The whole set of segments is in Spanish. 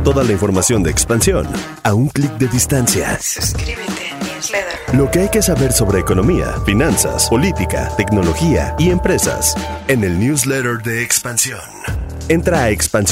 Toda la información de Expansión a un clic de distancia. Suscríbete a Newsletter. Lo que hay que saber sobre economía, finanzas, política, tecnología y empresas en el newsletter de Expansión. Entra a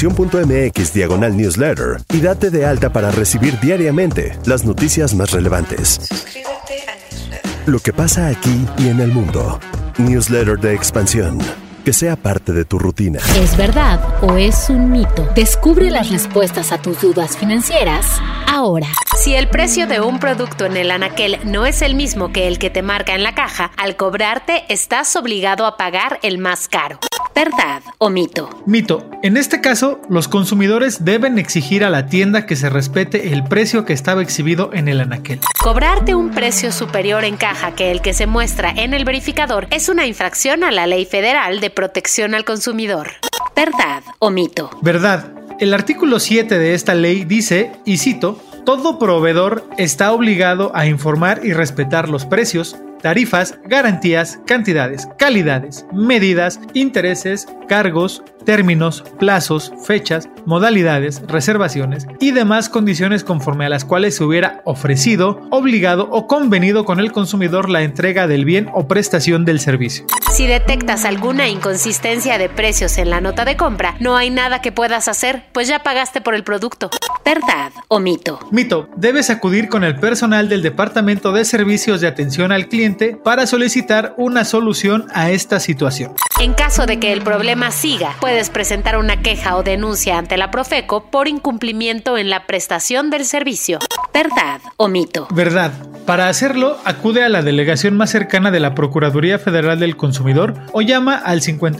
expansión.mx/newsletter y date de alta para recibir diariamente las noticias más relevantes. Suscríbete a Newsletter. Lo que pasa aquí y en el mundo. Newsletter de Expansión. Que sea parte de tu rutina. ¿Es verdad o es un mito? Descubre las respuestas a tus dudas financieras ahora. Si el precio de un producto en el anaquel no es el mismo que el que te marca en la caja, al cobrarte estás obligado a pagar el más caro. ¿Verdad o mito? Mito. En este caso, los consumidores deben exigir a la tienda que se respete el precio que estaba exhibido en el anaquel. Cobrarte un precio superior en caja que el que se muestra en el verificador es una infracción a la Ley Federal de Protección al Consumidor. ¿Verdad o mito? Verdad. El artículo 7 de esta ley dice, y cito, todo proveedor está obligado a informar y respetar los precios, tarifas, garantías, cantidades, calidades, medidas, intereses, cargos, términos, plazos, fechas, modalidades, reservaciones y demás condiciones conforme a las cuales se hubiera ofrecido, obligado o convenido con el consumidor la entrega del bien o prestación del servicio. Si detectas alguna inconsistencia de precios en la nota de compra, no hay nada que puedas hacer, pues ya pagaste por el producto. ¿Verdad o mito? Mito. Debes acudir con el personal del Departamento de Servicios de Atención al Cliente para solicitar una solución a esta situación. En caso de que el problema siga, puedes presentar una queja o denuncia ante la Profeco por incumplimiento en la prestación del servicio. ¿Verdad o mito? Verdad. Para hacerlo, acude a la delegación más cercana de la Procuraduría Federal del Consumidor o llama al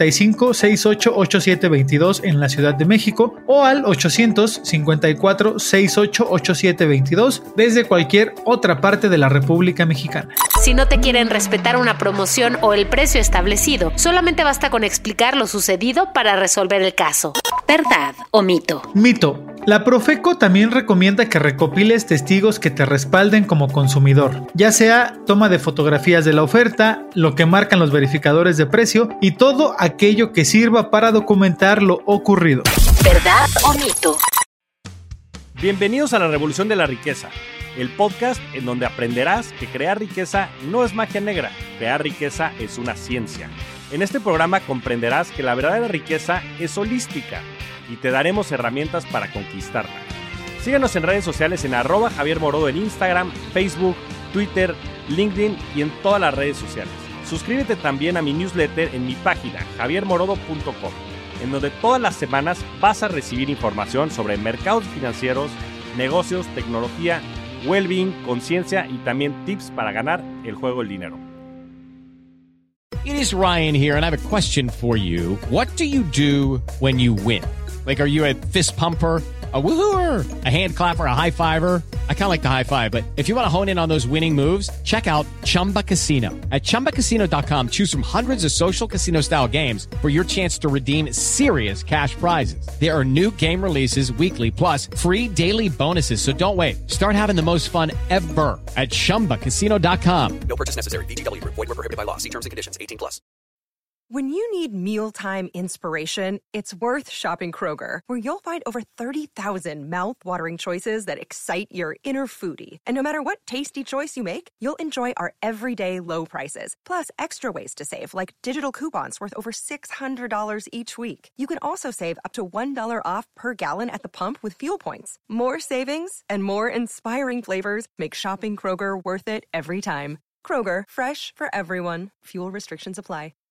55 68 87 22 en la Ciudad de México o al 800 54 68 87 22 desde cualquier otra parte de la República Mexicana. Si no te quieren respetar una promoción o el precio establecido, solamente basta con explicar lo sucedido para resolver el caso. ¿Verdad o mito? Mito. La Profeco también recomienda que recopiles testigos que te respalden como consumidor, ya sea toma de fotografías de la oferta, lo que marcan los verificadores de precio y todo aquello que sirva para documentar lo ocurrido. ¿Verdad o mito? Bienvenidos a la Revolución de la Riqueza, el podcast en donde aprenderás que crear riqueza no es magia negra, crear riqueza es una ciencia. En este programa comprenderás que la verdadera riqueza es holística y te daremos herramientas para conquistarla. Síguenos en redes sociales en @JavierMorodo en Instagram, Facebook, Twitter, LinkedIn y en todas las redes sociales. Suscríbete también a mi newsletter en mi página javiermorodo.com, en donde todas las semanas vas a recibir información sobre mercados financieros, negocios, tecnología, well-being, conciencia y también tips para ganar el juego del dinero. It is Ryan here, and I have a question for you. What do you do when you win? Like, are you a fist pumper, a woohooer, a hand clapper, a high fiver? I kind of like the high five, but if you want to hone in on those winning moves, check out Chumba Casino. At ChumbaCasino.com, choose from hundreds of social casino-style games for your chance to redeem serious cash prizes. There are new game releases weekly, plus free daily bonuses, so don't wait. Start having the most fun ever at ChumbaCasino.com. No purchase necessary. VGW Group. Void where prohibited by law. See terms and conditions. 18+. When you need mealtime inspiration, it's worth shopping Kroger, where you'll find over 30,000 mouth-watering choices that excite your inner foodie. And no matter what tasty choice you make, you'll enjoy our everyday low prices, plus extra ways to save, like digital coupons worth over $600 each week. You can also save up to $1 off per gallon at the pump with fuel points. More savings and more inspiring flavors make shopping Kroger worth it every time. Kroger, fresh for everyone. Fuel restrictions apply.